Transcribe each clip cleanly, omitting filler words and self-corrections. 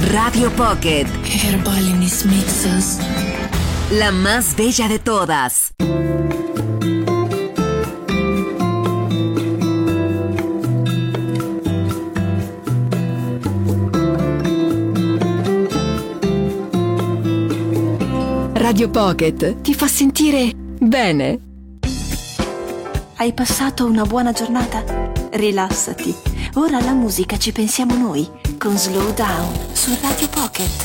Radio Pocket. Herbal en mis mixes. La más bella de todas. Radio Pocket ti fa sentire bene. Hai passato una buona giornata? Rilassati. Ora alla musica ci pensiamo noi con Slow Down su Radio Pocket.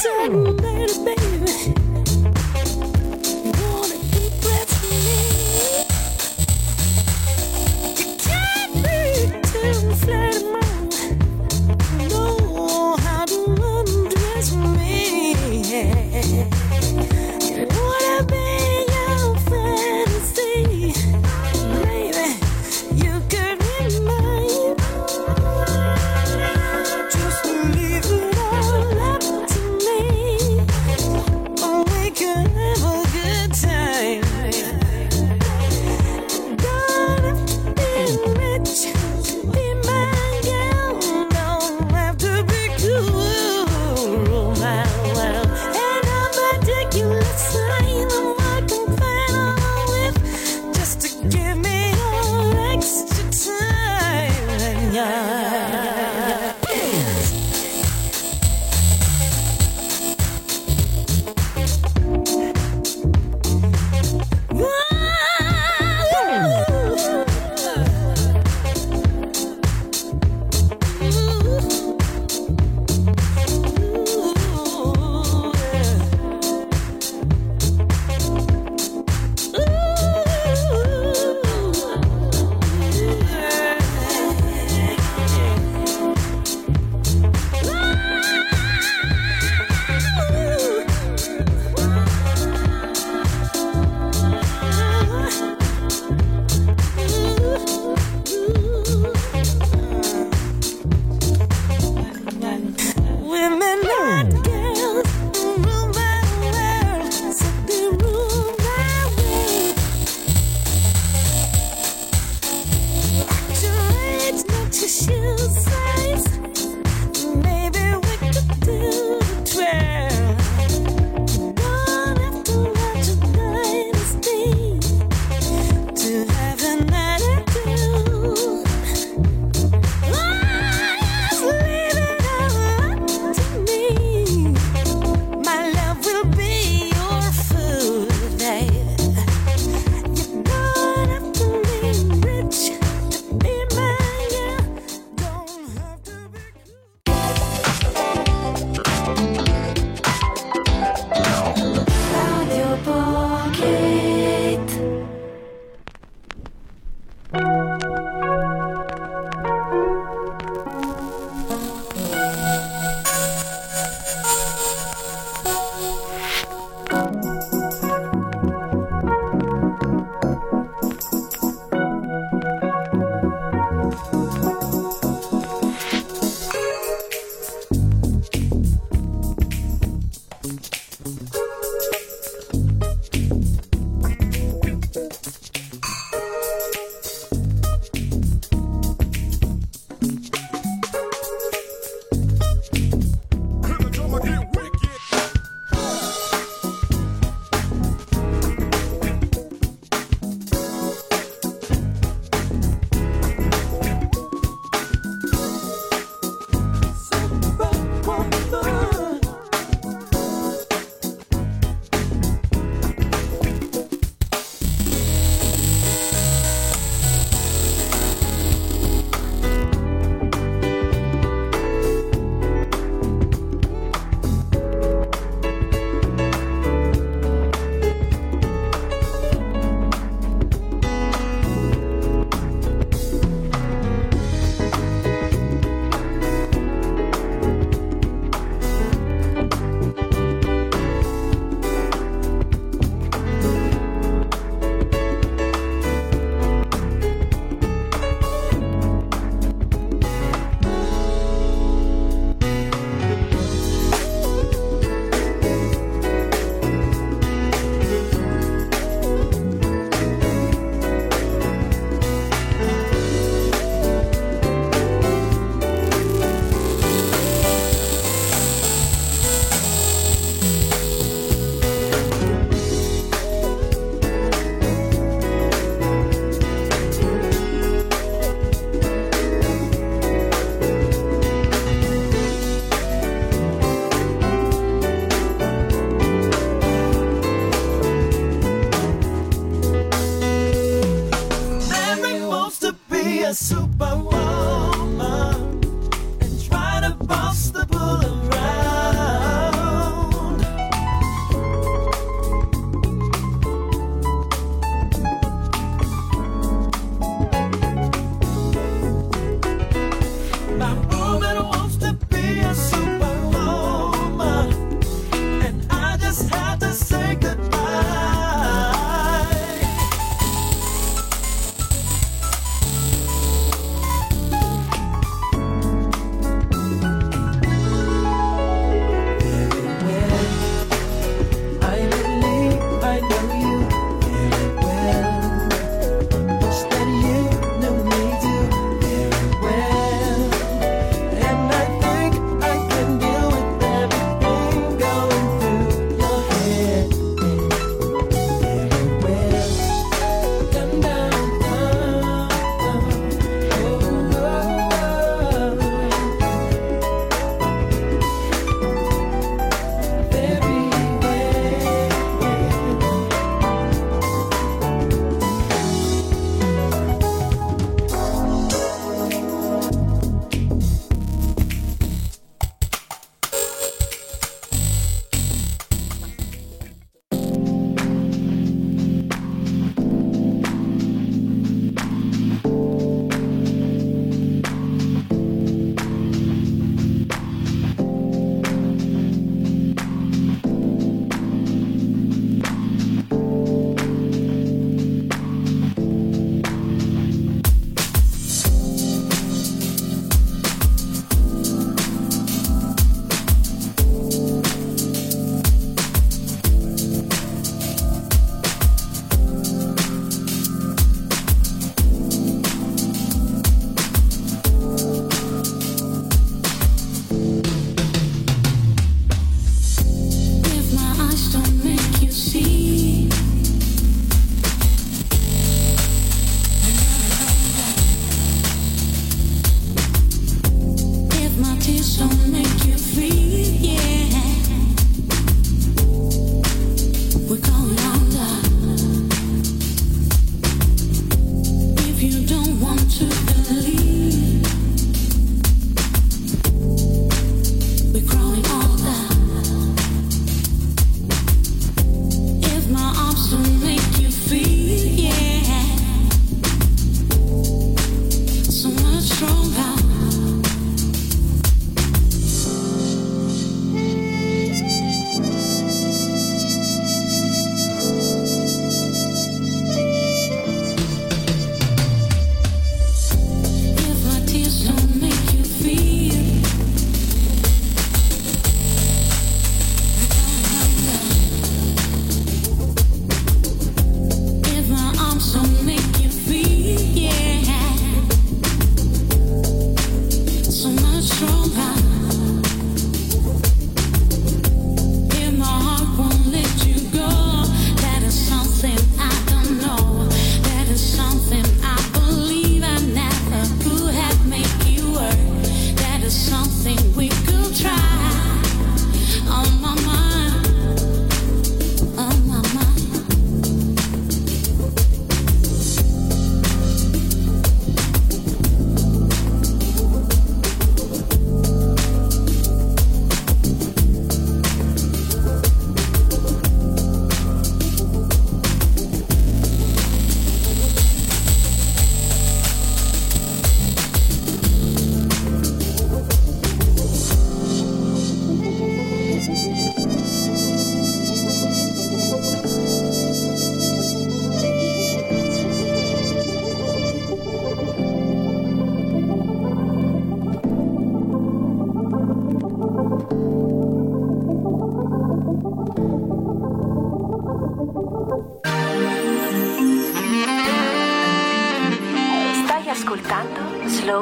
And I'm ridiculous, I'm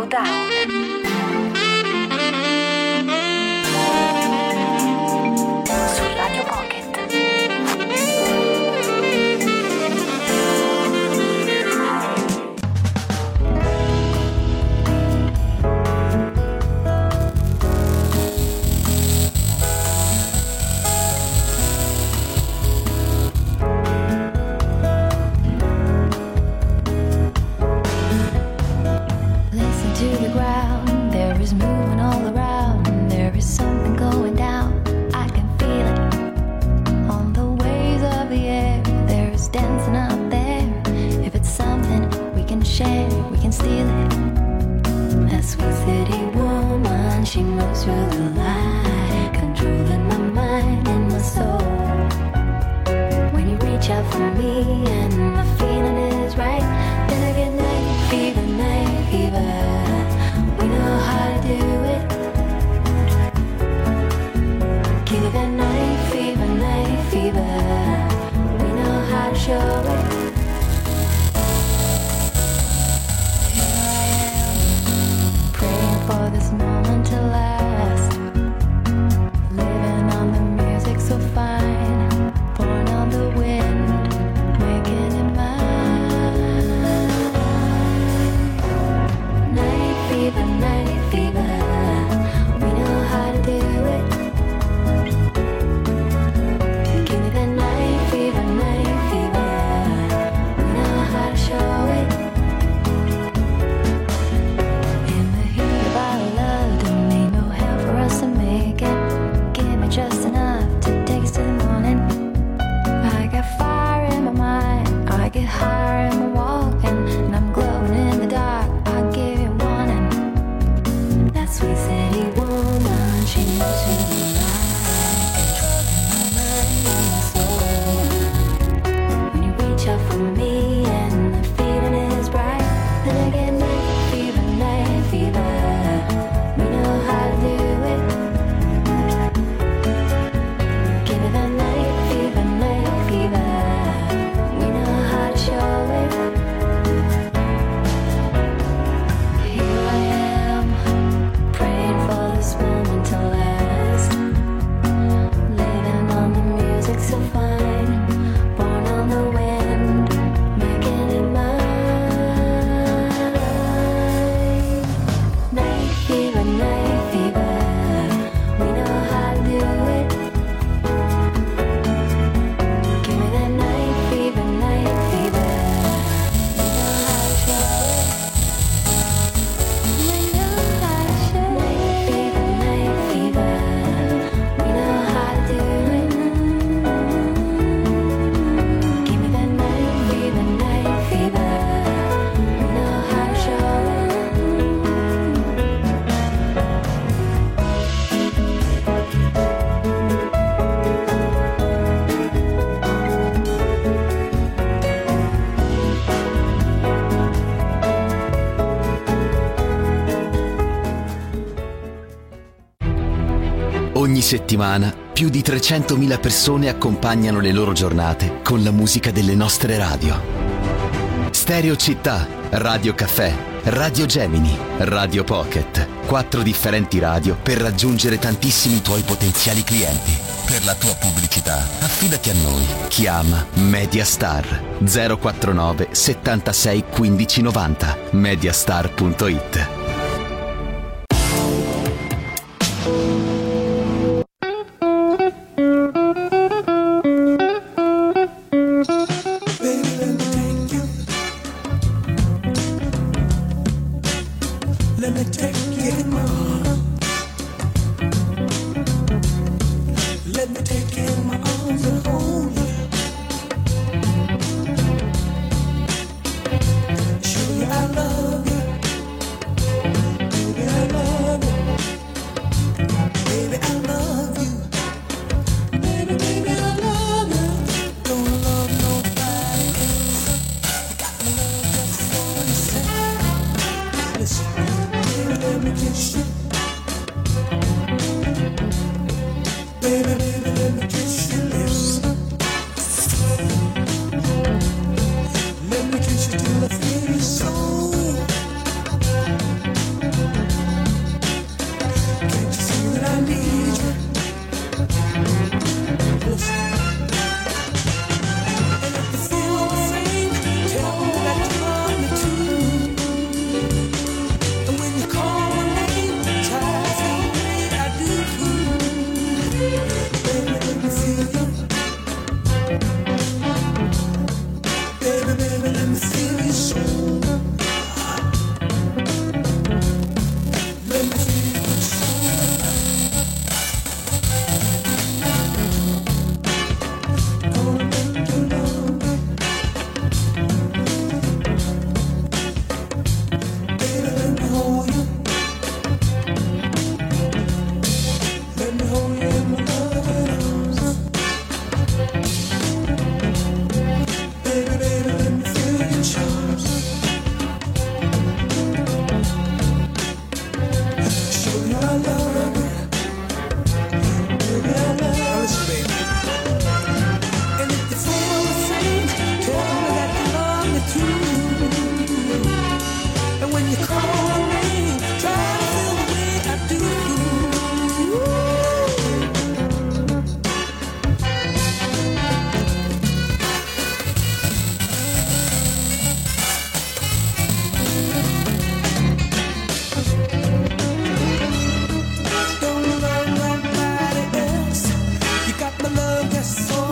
Slow Down. Su Radio Pocket. Ogni settimana più di 300.000 persone accompagnano le loro giornate con la musica delle nostre radio. Stereo Città, Radio Caffè, Radio Gemini, Radio Pocket. 4 differenti radio per raggiungere tantissimi tuoi potenziali clienti. Per la tua pubblicità, affidati a noi. Chiama Mediastar 049 76 15 90. Mediastar.it.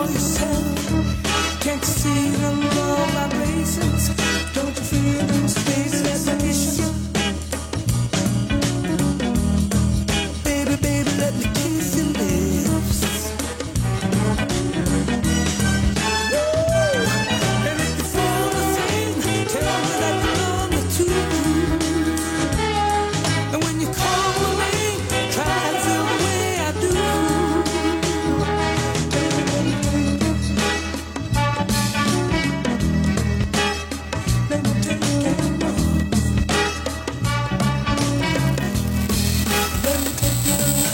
for yourself. Can't you see the low vibrations? Don't you feel them spaces that issue? Baby, baby, let me kiss your lips. And if you feel the same, tell me that you love me too. And when you call my name, try and feel the way I do. Let me take your hand off. Let me take your hand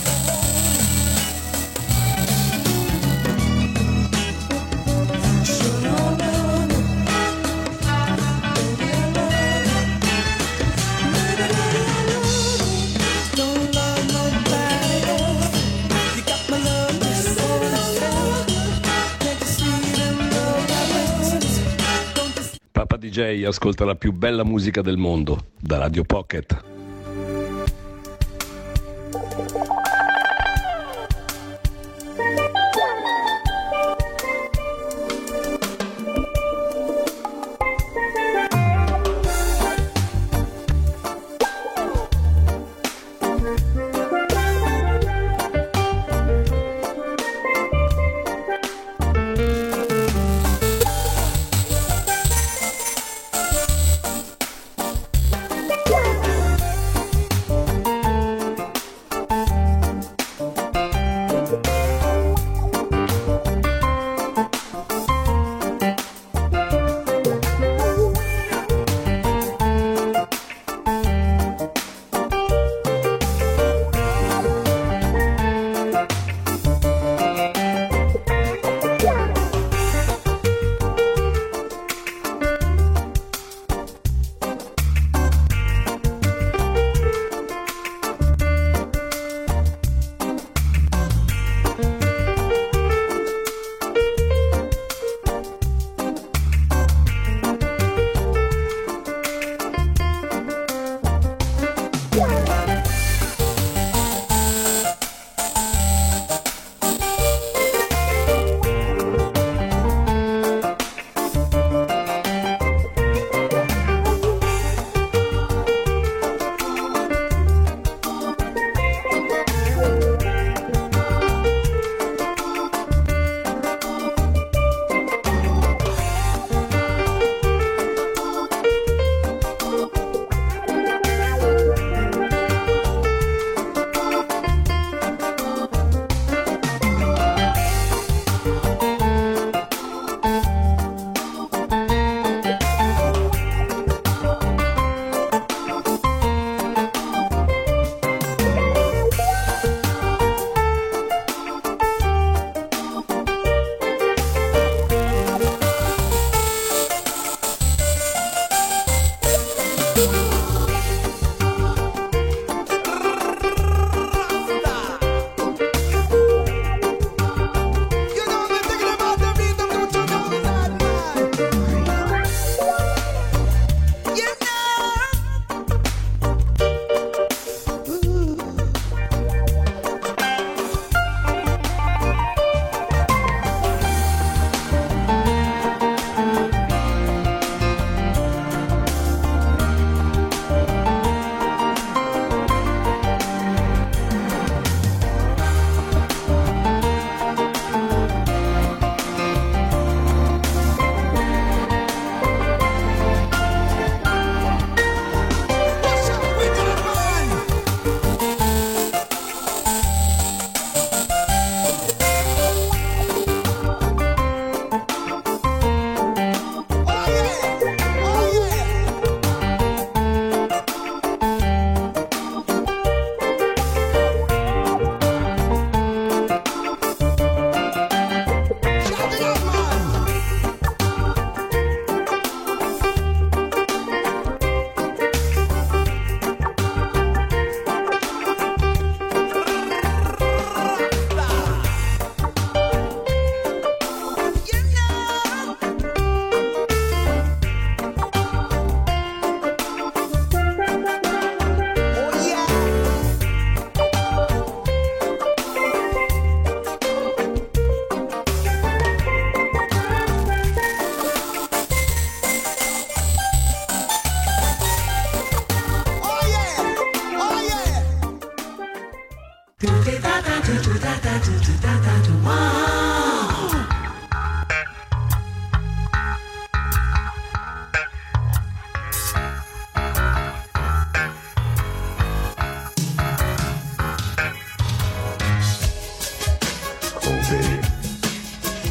off. Sure, I love you. Baby, I love you. Baby, I love you. Don't love nobody else. You got my love just for yourself. Can't you see them love vibrations? Don't you Papa DJ ascolta la più bella musica del mondo da Radio Pocket.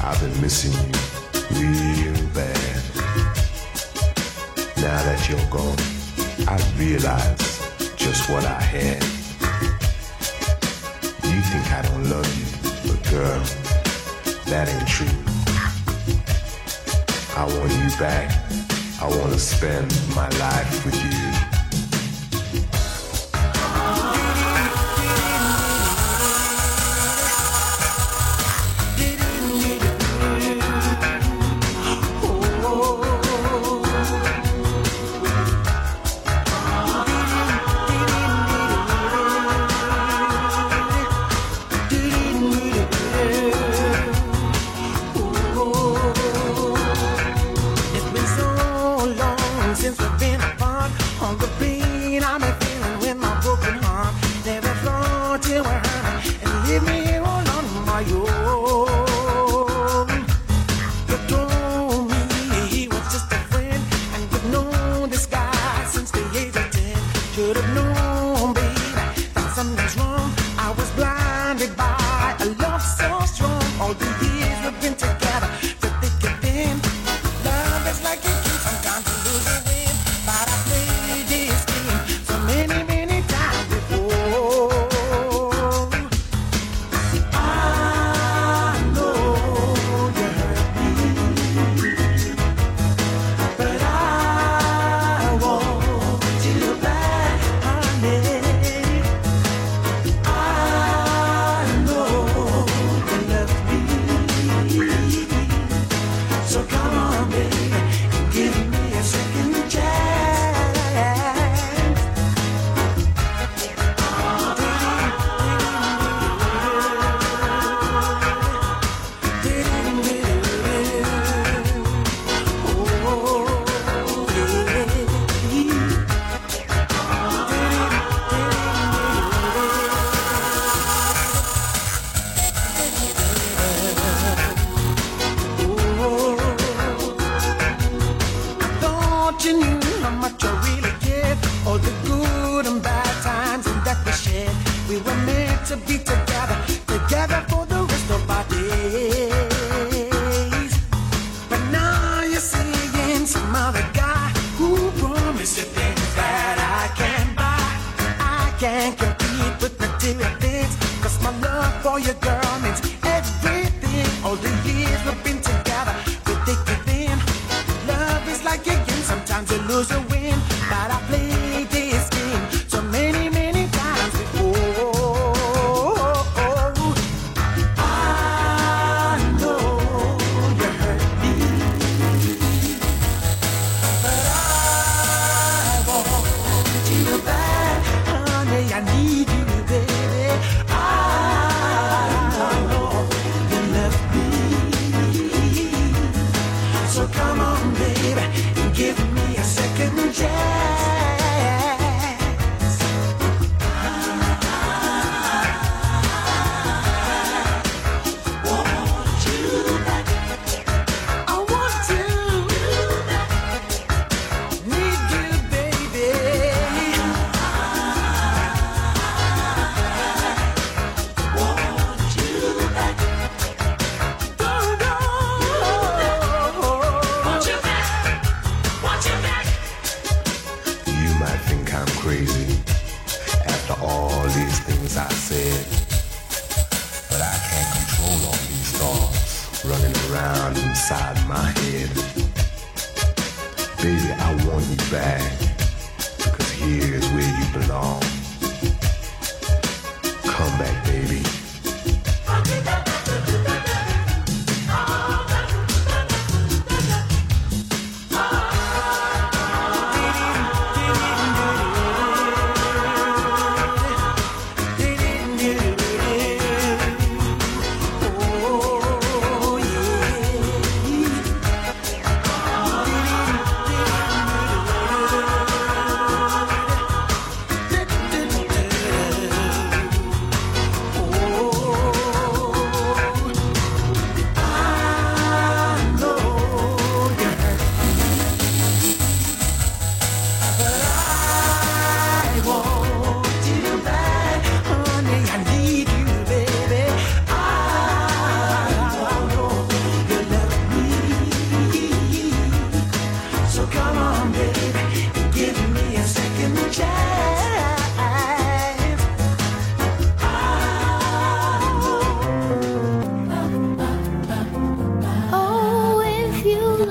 I've been missing you real bad. Now that you're gone, I realize just what I had. You think I don't love you, but girl, that ain't true. I want you back. I want to spend my life with you.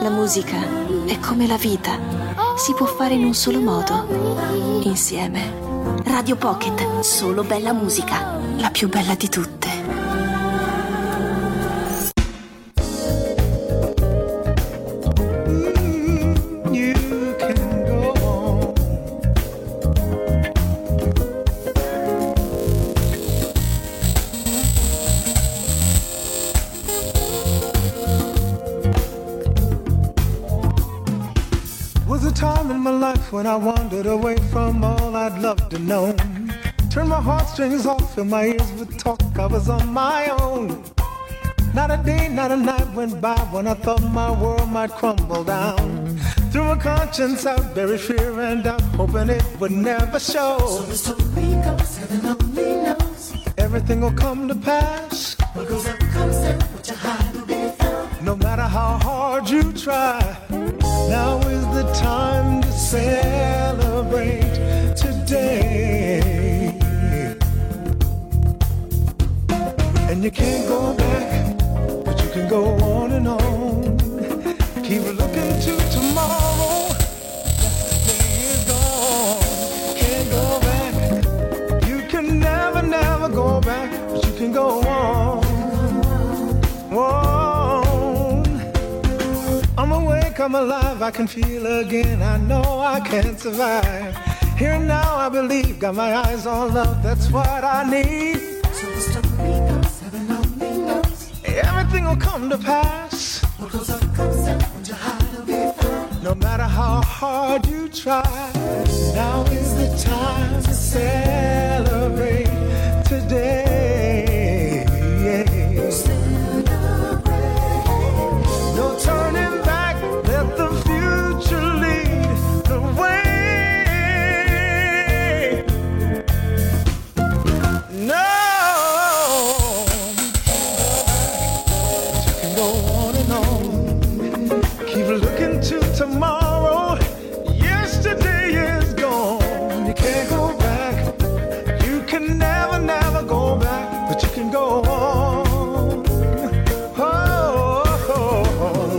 La musica è come la vita, si può fare in un solo modo, insieme. Radio Pocket, solo bella musica, la più bella di tutte. You can go on. Was a time in my life when I wandered away from all I'd loved to know. Turned my heartstrings off and my ears would talk. I was on my own. Not a day, not a night went by when I thought my world might crumble down. Through a conscience out, buried fear and doubt, hoping it would never show. So the story goes, heaven only knows. Everything will come to pass. What goes up comes down, what you hide will be found. No matter how hard you try, now is the time to celebrate today. And you can't go back, but you can go on and on. Keep looking to tomorrow. Yesterday is gone. Can't go back. You can never, never go back, but you can go on. I'm awake, I'm alive, I can feel again. I know I can't survive. Here now I believe, got my eyes on love, that's what I need. So the story goes, heaven only knows. Everything will come to pass. What goes up comes down, what you hide will be found. No matter how hard you try, now is the time to celebrate today. Celebrate. No turning back, let the future lead the way. No. Tomorrow, yesterday is gone. You can't go back. You can never, never go back, but you can go on. Oh.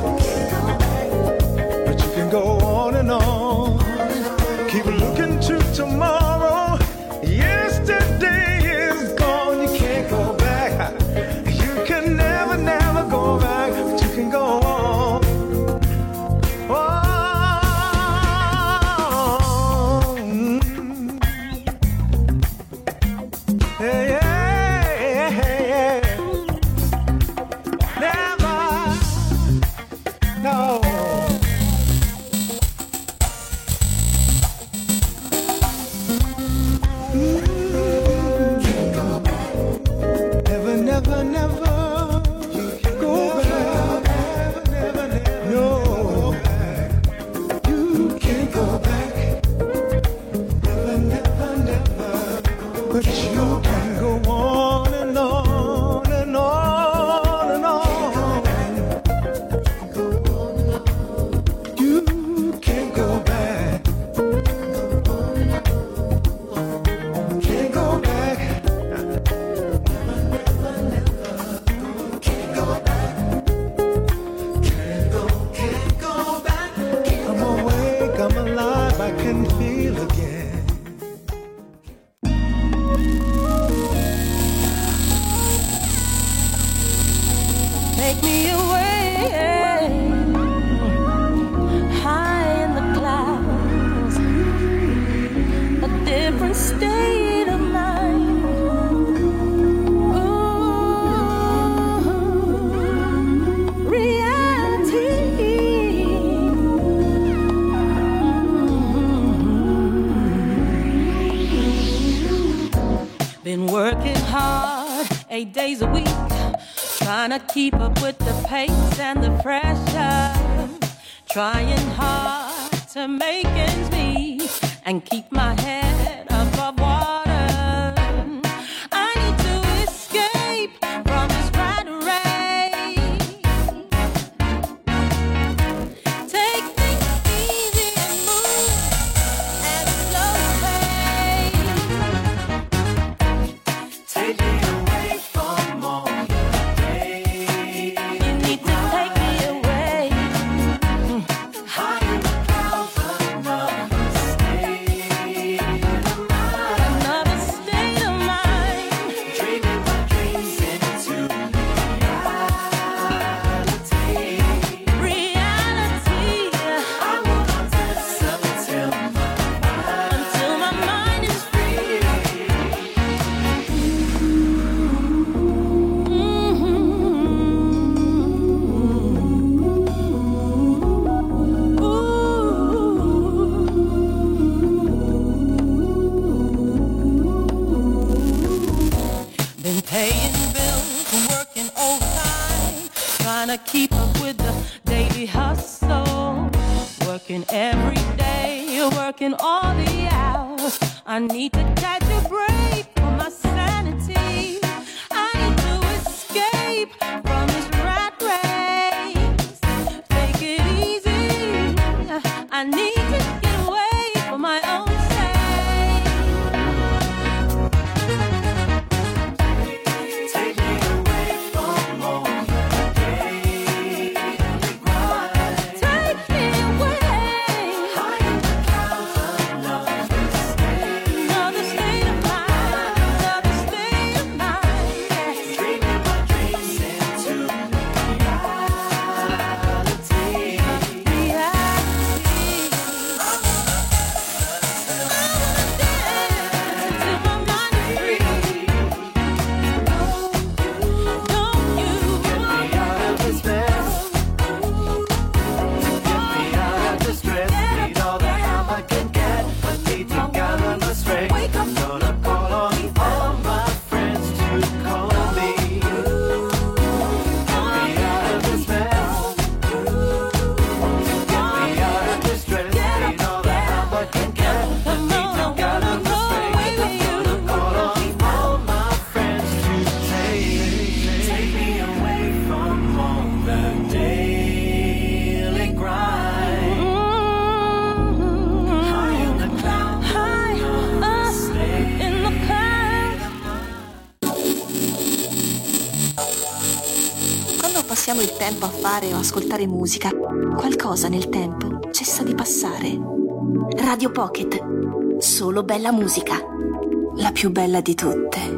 But you can go on and on. Keep looking to tomorrow. Yesterday is gone. You can't go back. You can never, never go back, but you can go on. Been working hard 8 days a week, trying to keep up with the pace and the pressure, trying hard to make ends meet and keep my head above water. I need to escape from this rat race. Take things easy and move at a slow pace. Take me away from all the days. You need to take me away. trying to keep up with the daily hustle. Working every day, working all the hours. I need to catch a break for my sanity. I need to escape from this rat race. Take it easy. I need to get away for my own sake. Take me away from all the daily grind. Take me away. High in the clouds, another state. Another state of mind. Another state of mind. Yeah. Dreaming my dreams into reality. Quando passiamo il tempo a fare o ascoltare musica, qualcosa nel tempo cessa di passare. Radio Pocket, solo bella musica, la più bella di tutte.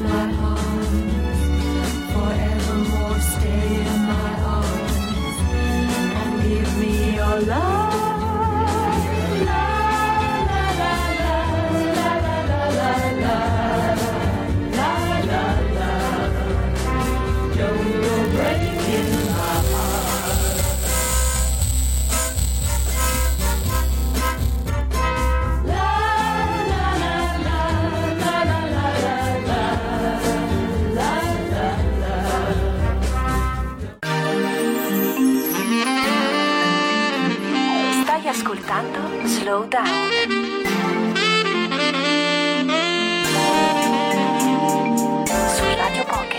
my arms, forevermore stay in my arms, and give me your love. Stai ascoltando Slow Down su Radio Pocket.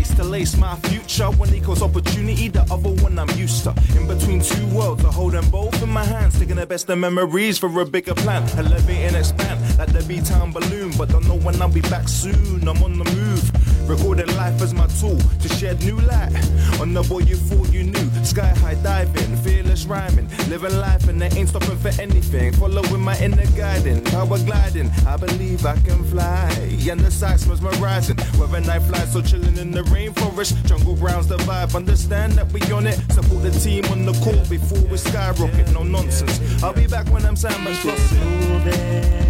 place to lace my future. One equals opportunity, the other one I'm used to. In between two worlds, I hold them both in my hands, taking the best of memories for a bigger plan. Elevate and expand like the B-Town balloon, but don't know when I'll be back soon. I'm on the move, recording life as my tool to shed new light on the boy you thought you knew. Sky high diving, fearless rhyming, living life and they ain't stopping for anything. Following my inner guiding, power gliding. I believe I can fly, and the sights mesmerizing. Whether night flies, so chilling in the rainforest, jungle grounds the vibe. Understand that we on it. Support the team on the court before we skyrocket. No nonsense. I'll be back when I'm Sandman's flossing.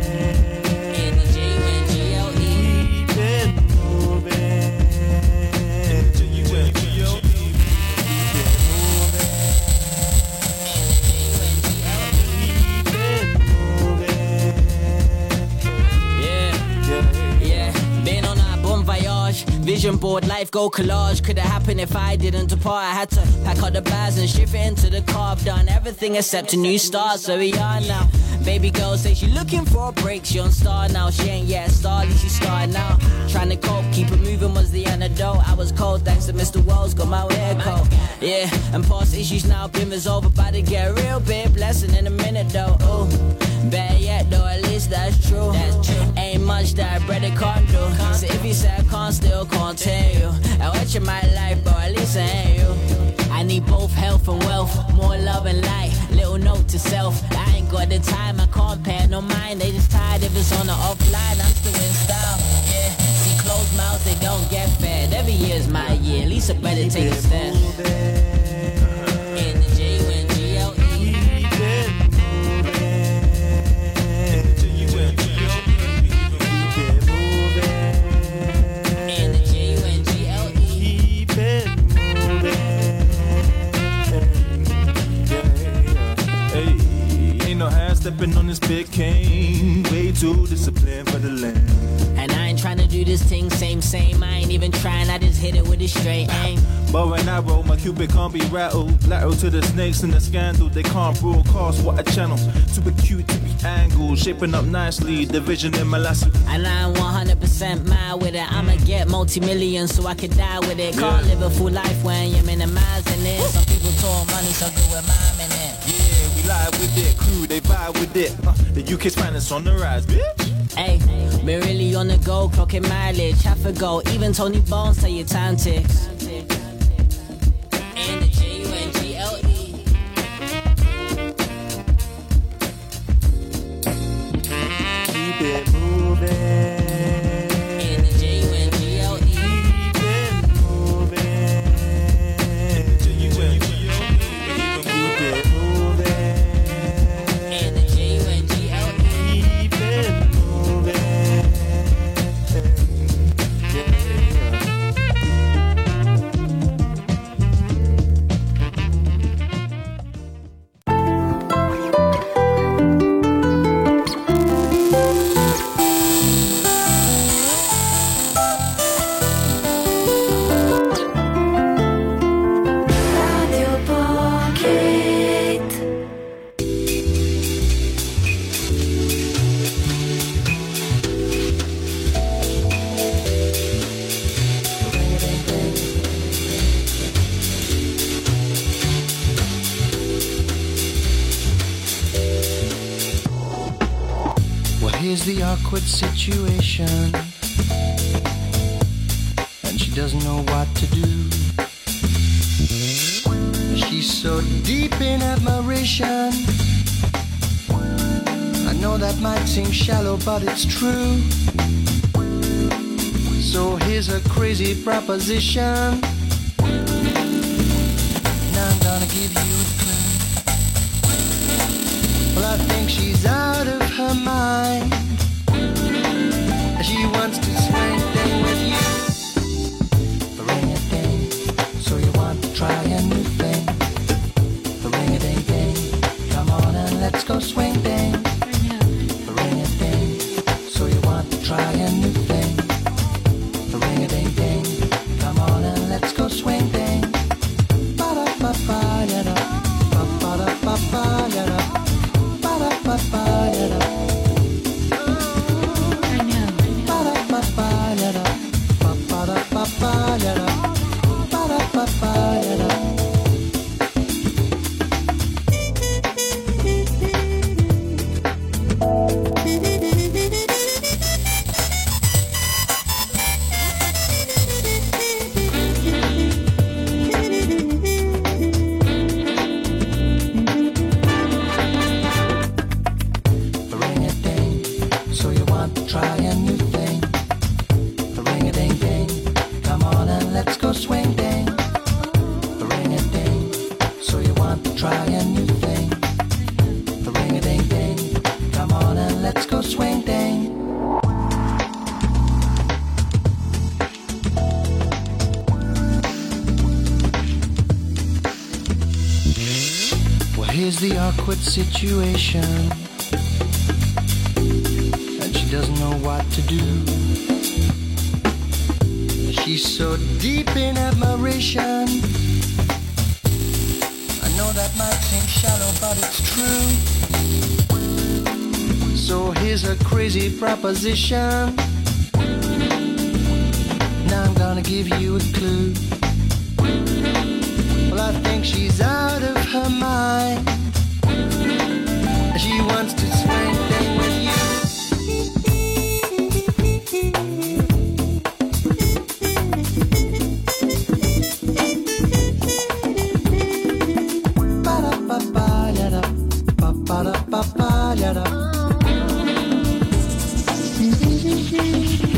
Vision board, life go collage. Could have happened if I didn't depart. I had to pack up the bags and shift it into the car. I've done everything except a new start, so we are now. Baby girl say she looking for a break. She on star now, she ain't yet a star, at least she started now. Trying to cope, keep it moving was the antidote. I was cold thanks to Mr. Wells, got my hair cold. Yeah, and past issues now, Bimmer's over. About to get a real big blessing in a minute though. Oh, better yet though, at least that's true. Ain't much that I brother can't do. So if you say I can't, still can't tell you. I watch in my life, but at least I ain't you. I need both health and wealth, more love and light. Little note to self, I ain't got the time, I can't pay no mind. They just tired if it's on the offline, I'm still in style. Yeah, see closed mouths, they don't get fed. Every year's my year, at least I better take a step. Stepping on this big cane, way too disciplined for the land. And I ain't trying to do this thing same. I ain't even trying, I just hit it with a straight aim. But when I roll, my cupid can't be rattled. Lateral to the snakes in the scandal, they can't broadcast what I channel. Super cute to be angled, shaping up nicely, the vision in my lasso. And I'm 100% mad with it. I'ma get multi-millions so I can die with it. Can't live a full life when you're minimizing it. Some people talk money, so good with mom in it. Yeah, we live with it, crew, they vibe with it. The UK's finest on the rise, bitch. Hey, been really on the go, clocking mileage, half a go. Even Tony Bones tell you time ticks. And the G-U-N-G-L-E. Keep it moving. Here's the awkward situation, and she doesn't know what to do. She's so deep in admiration. I know that might seem shallow, but it's true. So here's a crazy proposition. Now I'm gonna give you a clue. Well, I think she's out of her mind. She wants to swing thing with you. Ring-a-ding, so you want to try a new thing. Ring-a-ding-ding, come on and let's go swing ding. Ring-a-ding, so you want to try a new thing. Ring-a-ding-ding, come on and let's go swing ding. Ba-da-ba-ba-ya-da, ba-ba-da-ba-ba-ya-da, ba-da-ba-ba-ya-da. swing ding, ring a ding. So you want to try a new thing, ring a ding ding. Come on and let's go swing ding. Well, here's the awkward situation, and she doesn't know what to do. She's so deep in admiration. I know that might seem shallow, but it's true. So here's a crazy proposition. Now I'm gonna give you a clue. Well, I think she's out of her mind. She wants to swing thing with you. Ba-da-ba-ba-da, ba-ba-da-ba-ba-da.